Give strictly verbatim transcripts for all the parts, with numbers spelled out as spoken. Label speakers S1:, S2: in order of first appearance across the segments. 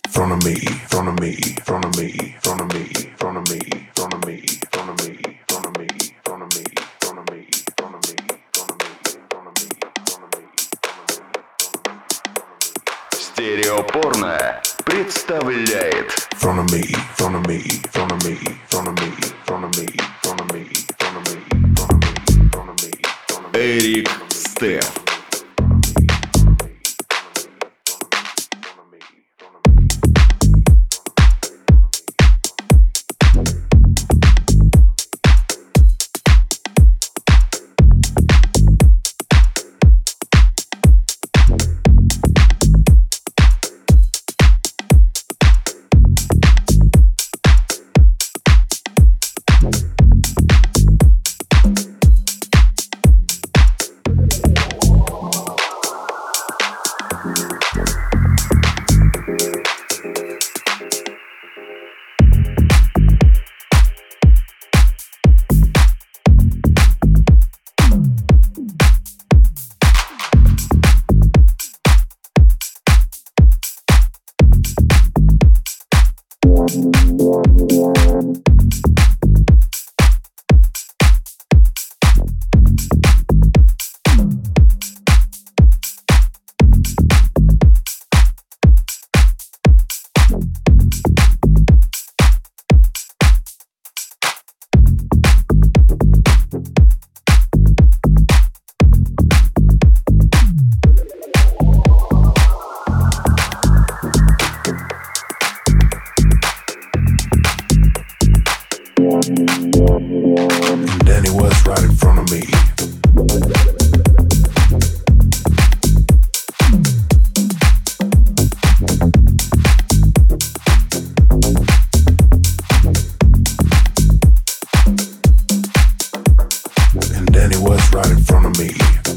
S1: front of me, front of me, front of me, front of me, front of me, front of me, front of me, front of me, front of me, front of me, front of me, front of me, front of me, front of me.
S2: Стереопорно представляет
S1: Front of me, front of me, front of me, front of me, front of me, front of me, front of me, front of me, front of me, front of me.
S2: Эрик Стеф.
S1: And Danny was right in front of me. And Danny was right in front of me.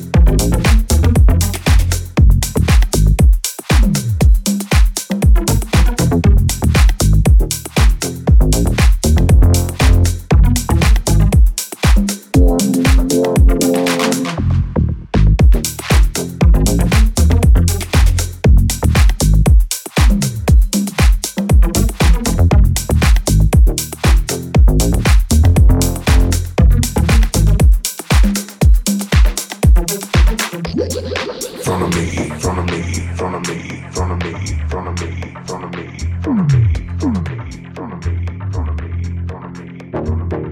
S1: Front of me, front of me, front of me, front of me, front of me, front of me, front of me, front of me, front of me, front of me, front of me, front of me.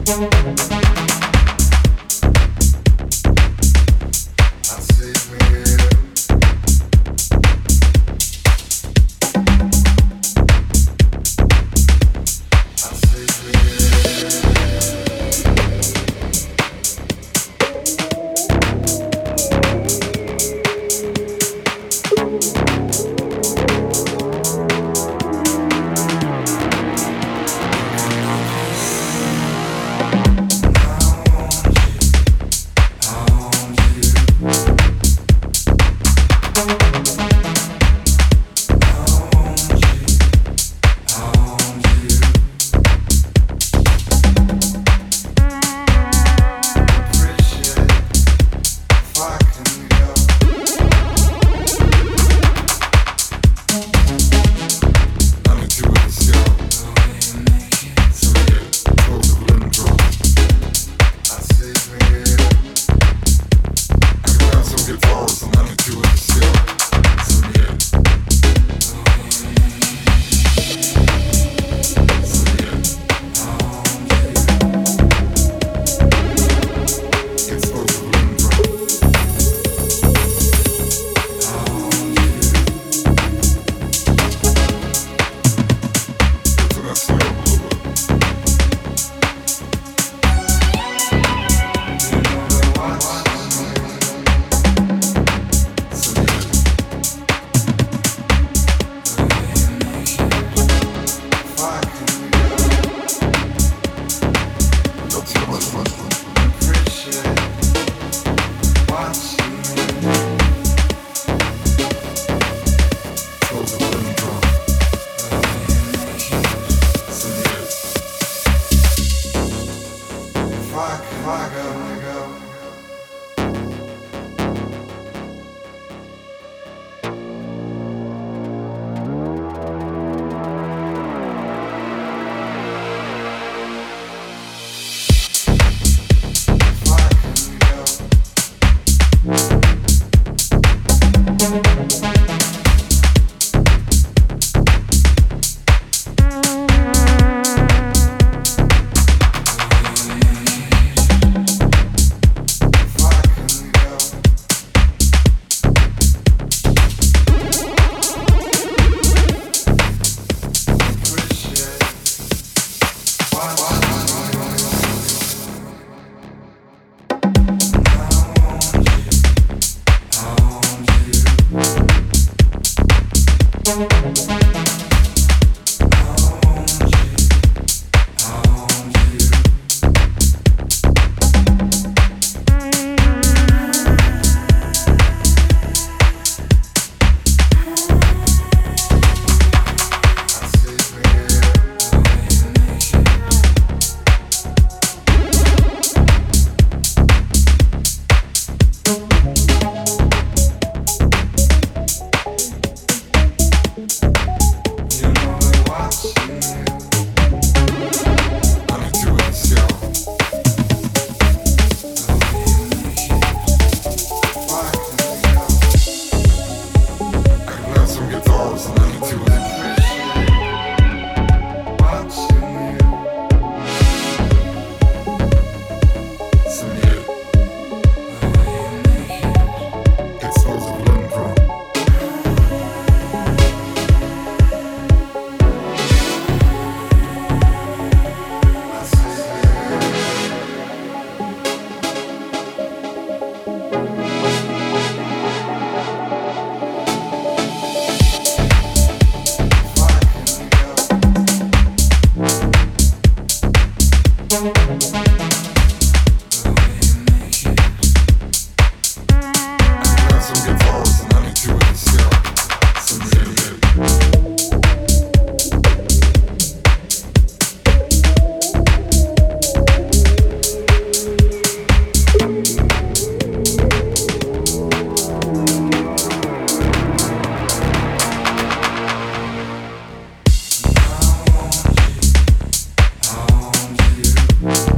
S3: you.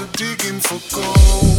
S1: digging for gold.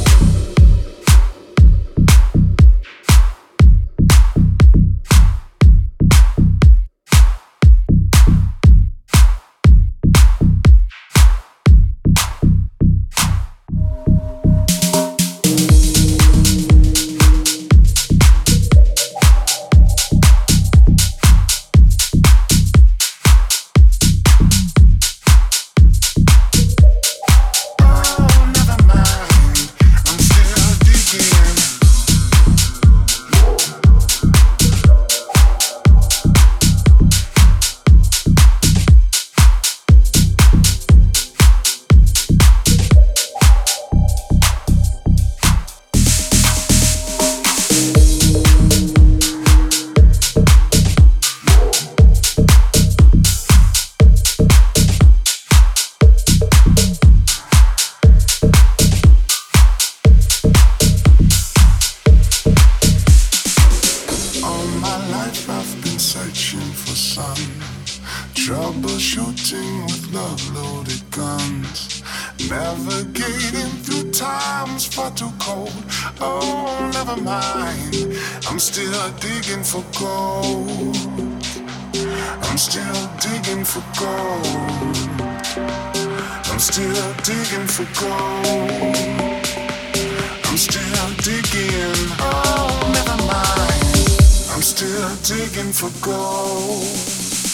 S1: Troubleshooting with love-loaded guns, navigating through times far too cold. Oh, never mind, I'm still digging for gold. I'm still digging for gold. I'm still digging for gold. I'm still digging. Oh, never mind, I'm still digging for gold.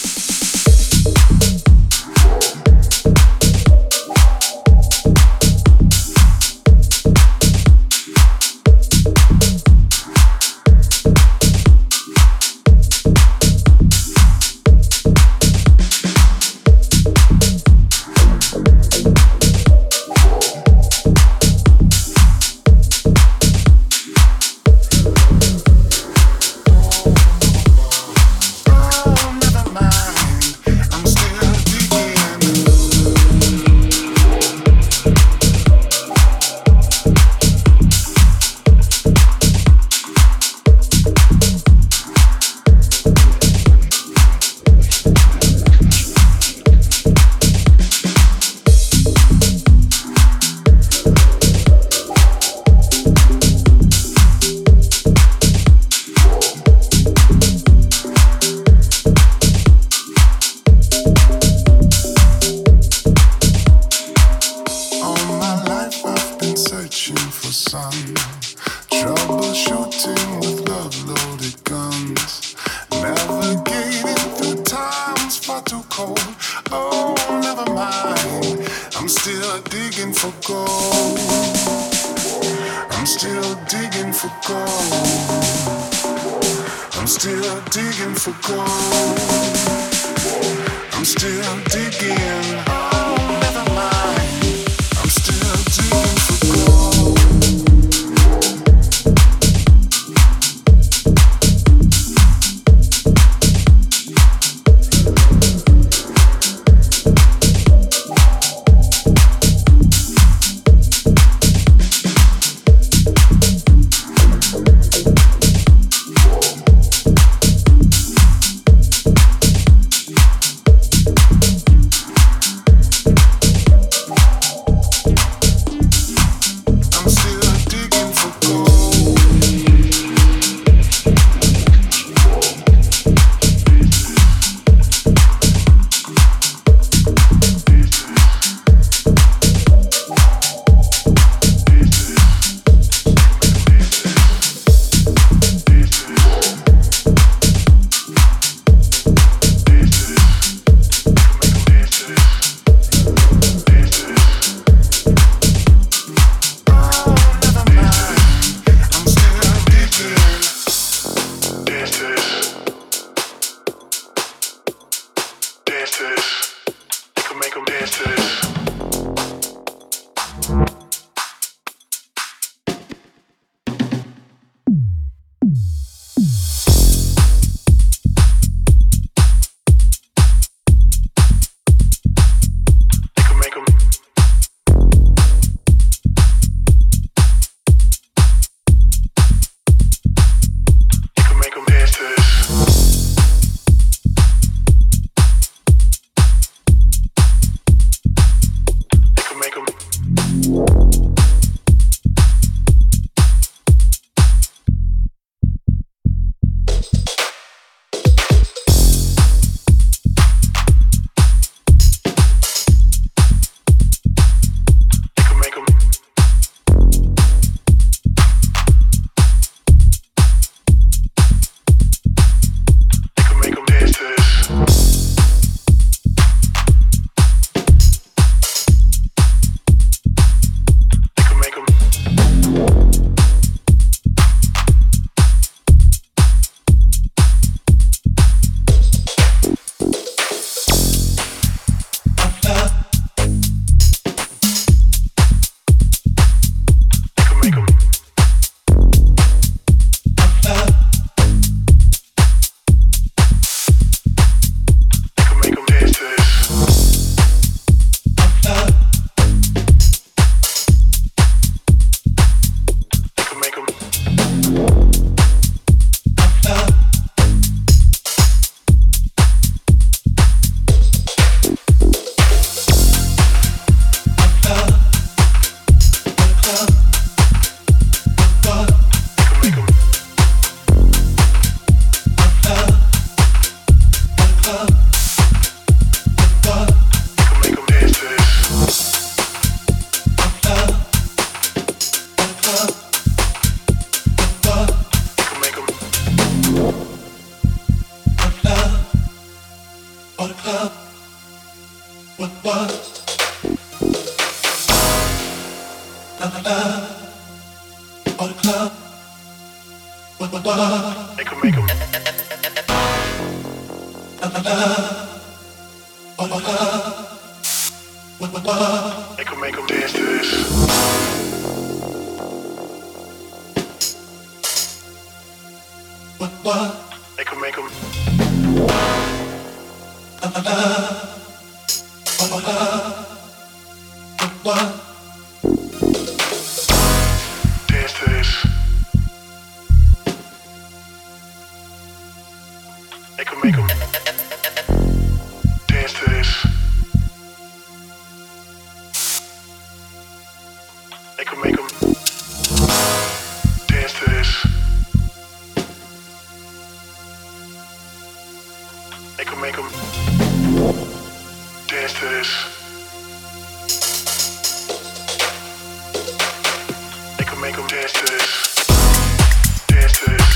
S1: Troubleshooting with love-loaded guns, navigating through times far too cold. Oh, never mind, I'm still digging for gold. I'm still digging for gold. I'm still digging for gold. I'm still digging. Oh, never mind, I'm still digging for gold.
S2: Make 'em
S1: They could make 'em. They could make 'em dance to this. They could make 'em. Dance to this. They could make 'em. Dance to this. They could make 'em. Dance to this. They could make 'em. Dance to this. They could make 'em dance to this. Dance to this.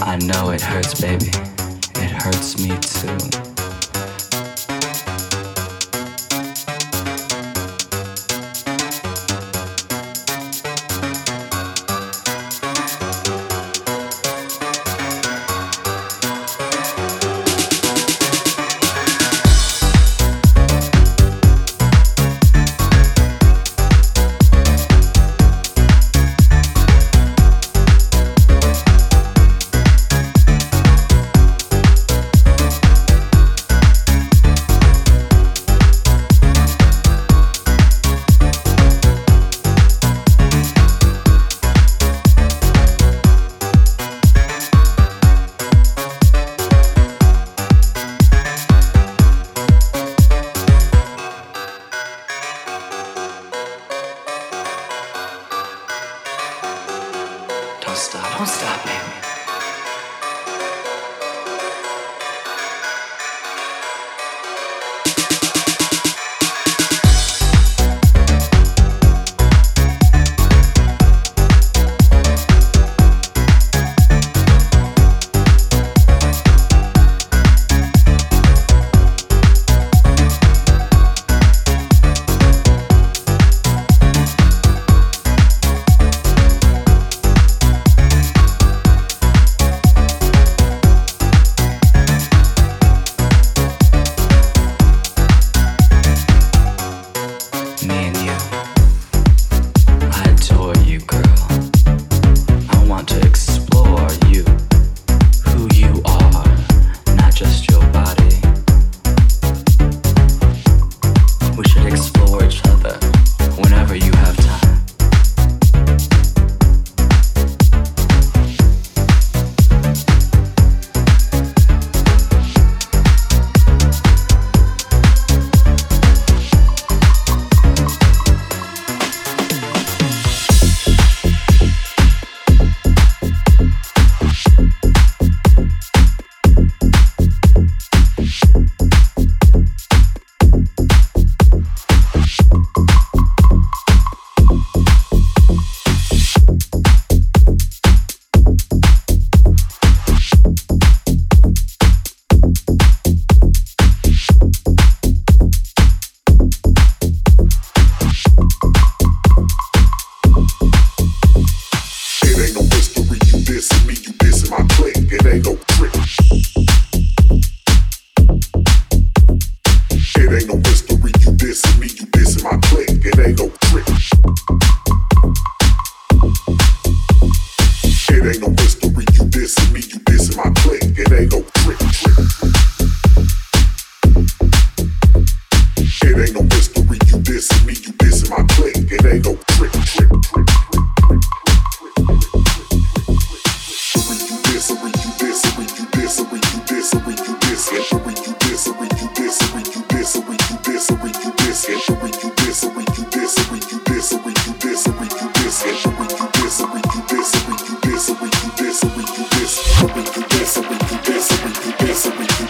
S3: I know it hurts, baby. It hurts me too. Don't stop, don't stop, baby. This,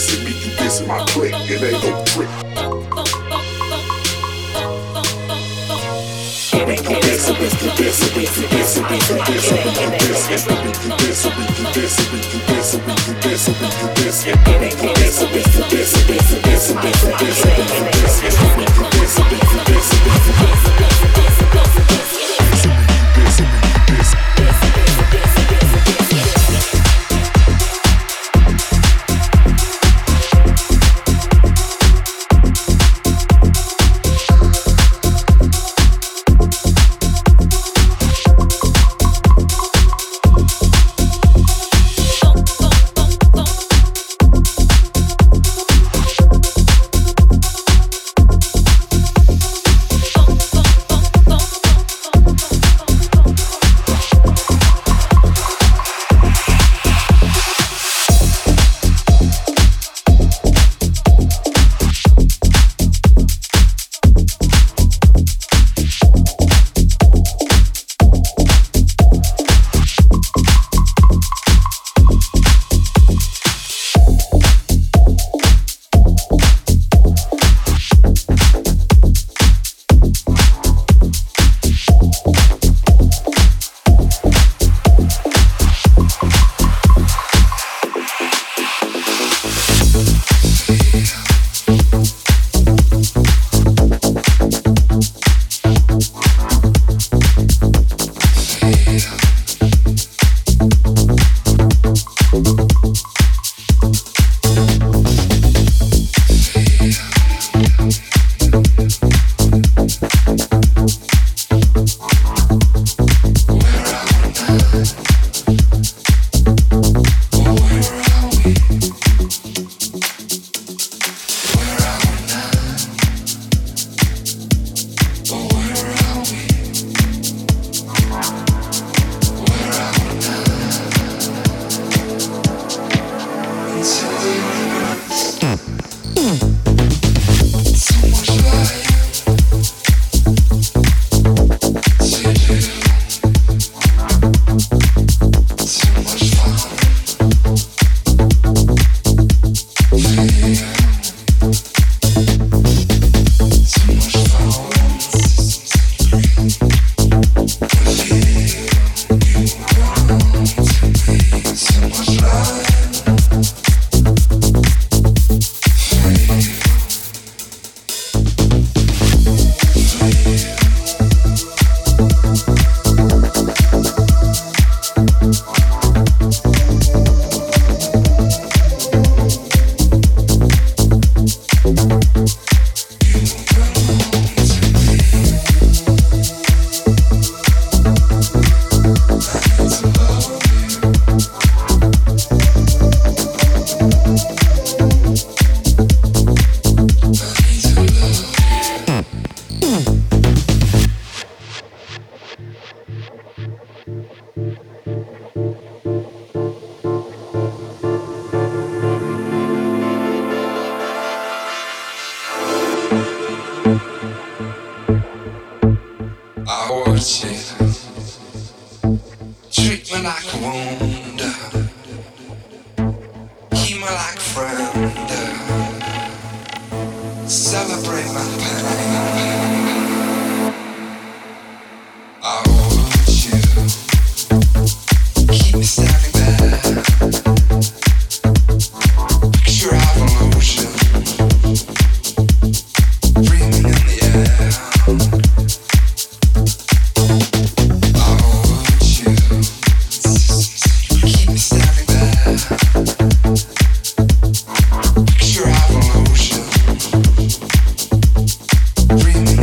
S1: dissing me, you dissing my clique. It ain't no trick. It ain't no dissing me, you dissing me, you dissing me, you dissing me, you dissing me, you dissing me, you dissing me, you dissing me, you dissing me, you dissing me. It ain't no dissing me, you dissing me, you dissing me, you dissing me, you dissing me, you dissing me, you dissing me, you dissing me. Dreaming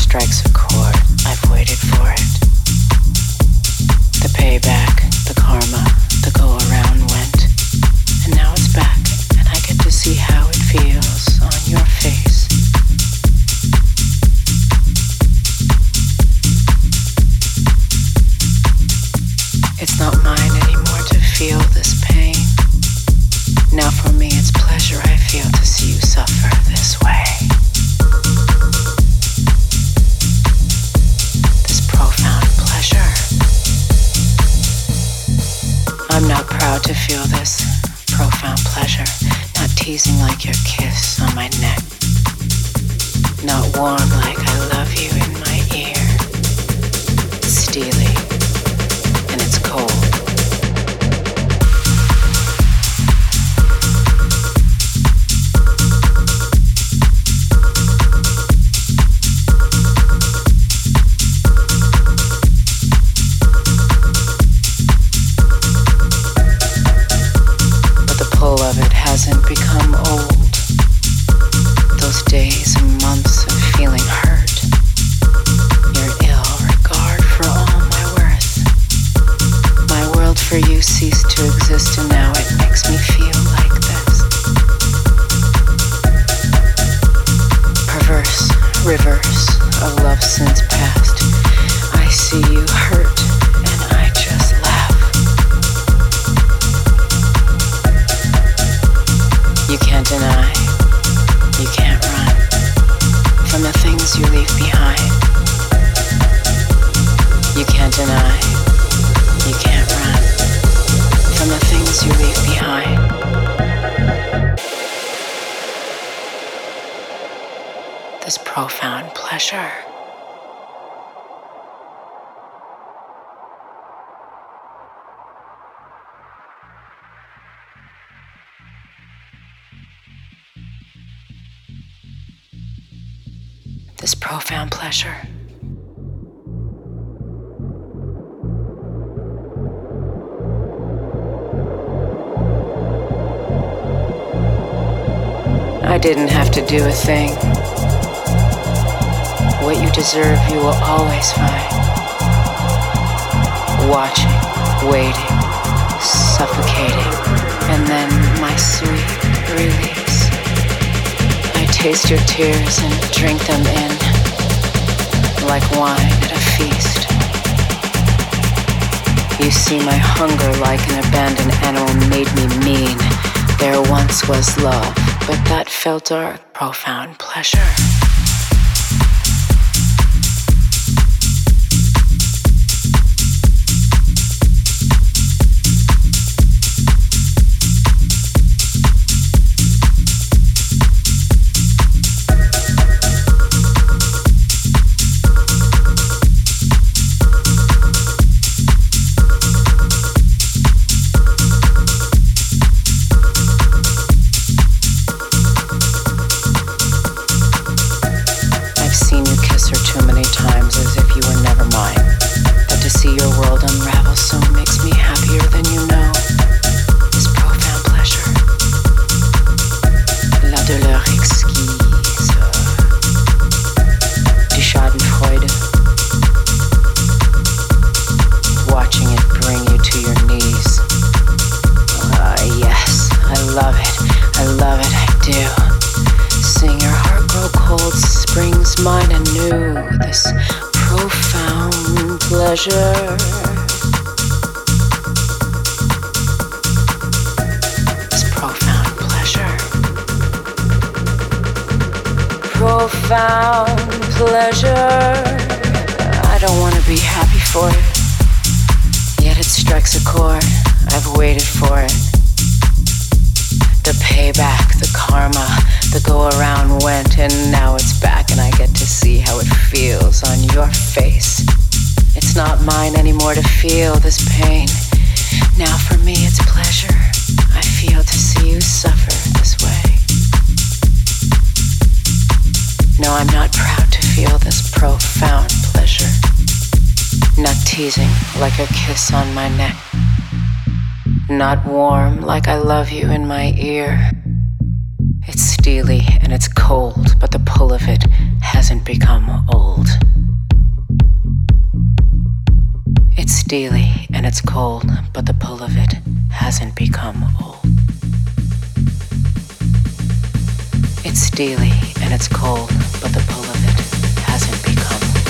S4: strikes a chord. I've waited for it. The payback, the karma, the go around went. And now it's back, and I get to see how it feels on your face. It's not mine anymore to feel this pain. Now for me it's pleasure I feel to see you suffer this way. This profound pleasure. I'm not proud to feel this profound pleasure. Not teasing like your kiss on my neck. Not warm like I love you in my ear. Steely, and it's cold. Hasn't become old. Those days and months of feeling hurt. Your ill regard for all my worth. My world for you ceased to exist, and now it makes me feel like this. Perverse reverse of love since past. I see you hurt, and I just laugh. You can't deny, you can't run from the things you leave behind. You can't deny, you can't run from the things you leave behind. This profound pleasure. This profound pleasure. I didn't have to do a thing. What you deserve, you will always find. Watching, waiting, suffocating, and then my sweet release. I taste your tears and drink them in, like wine at a feast. You see, my hunger like an abandoned animal made me mean. There once was love, but that felt dark, profound pleasure. Pleasure. This profound pleasure. Profound pleasure. I don't want to be happy for it, yet it strikes a chord. I've waited for it. The payback, the karma, the go around went, and now it's back, and I get to see how it feels on your face. It's not mine anymore to feel this pain. Now for me it's pleasure. I feel to see you suffer this way. No, I'm not proud to feel this profound pleasure. Not teasing like a kiss on my neck. Not warm like I love you in my ear. It's steely and it's cold, but the pull of it hasn't become old. steely and it's cold, but the pull of it hasn't become old. It's steely and it's cold, but the pull of it hasn't become old.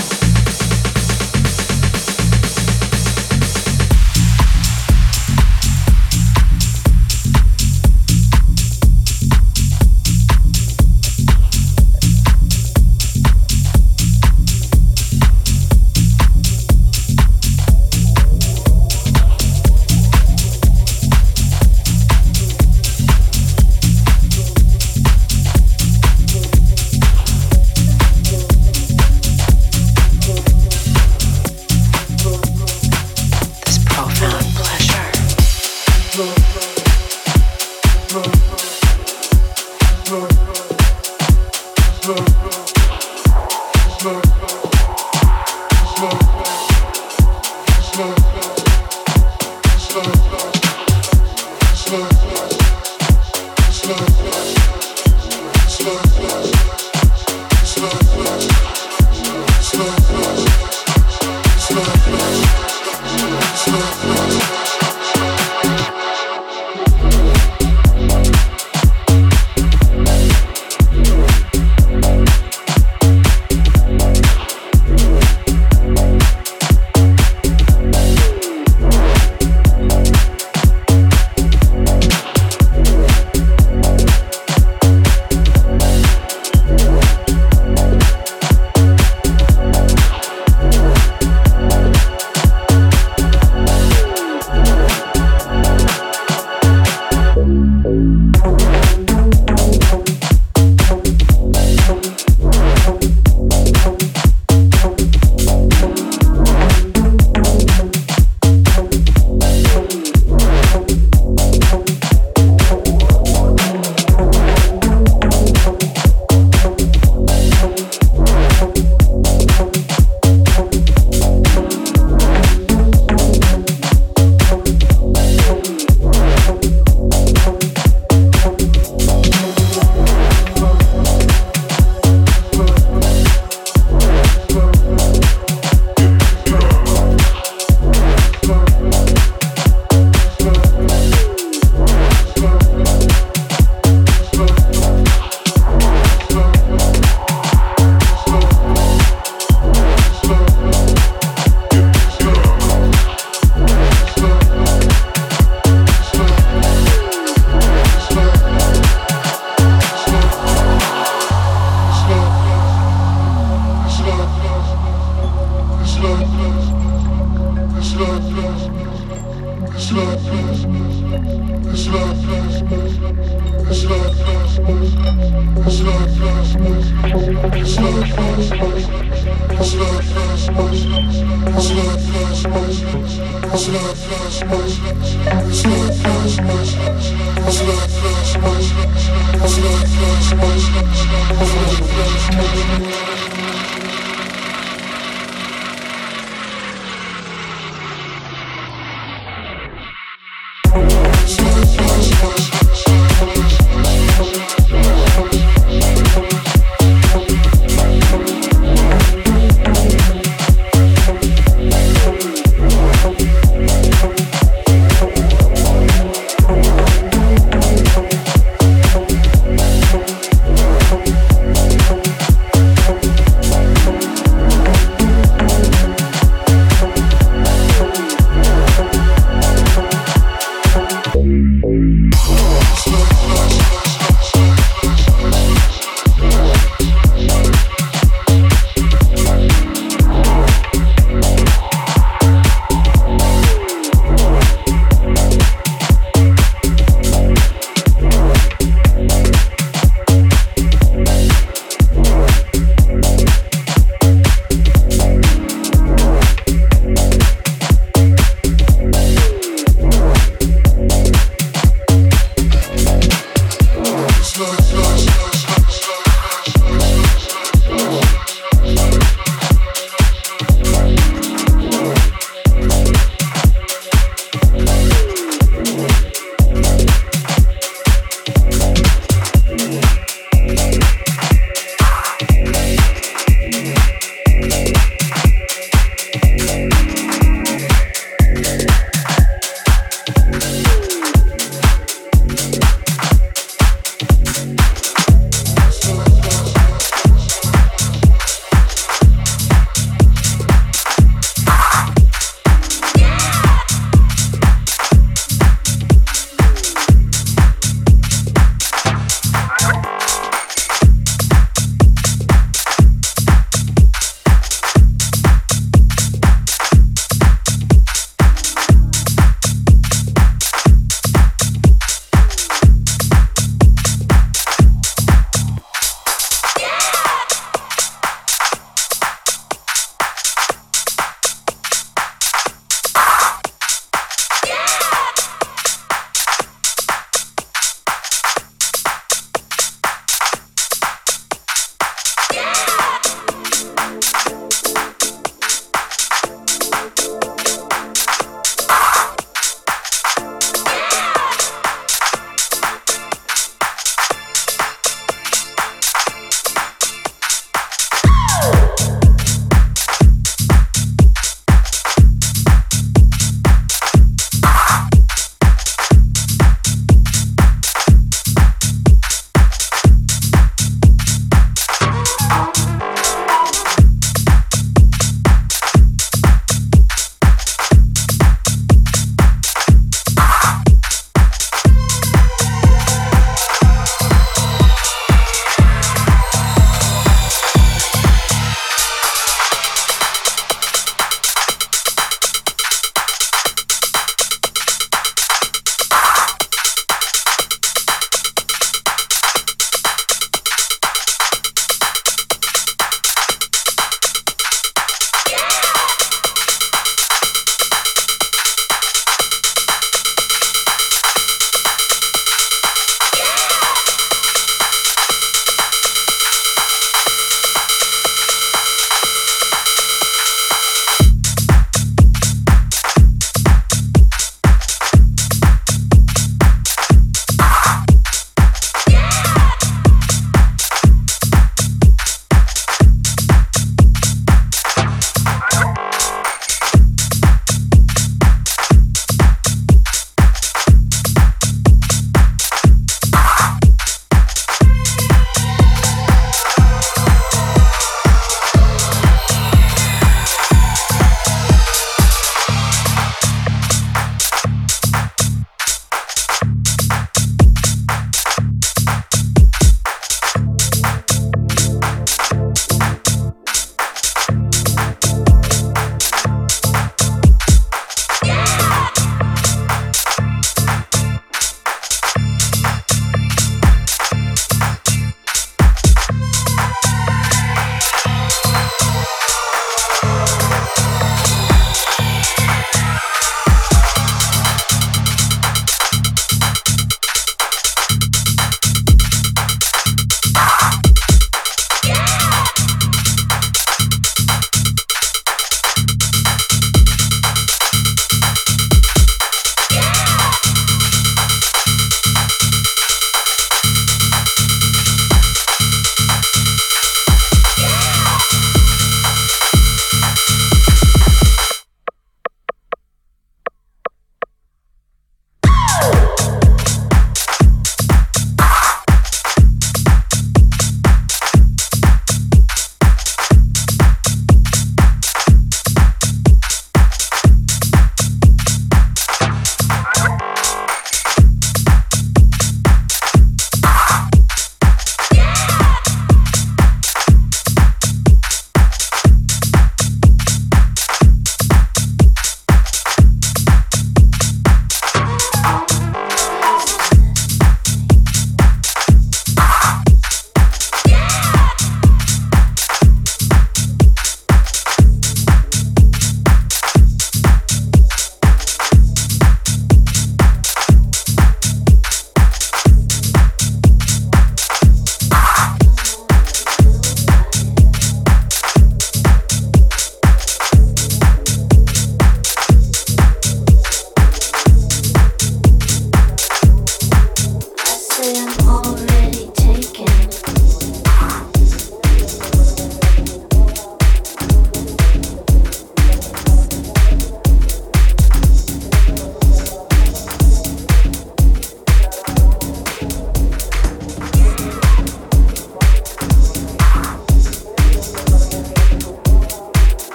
S1: It's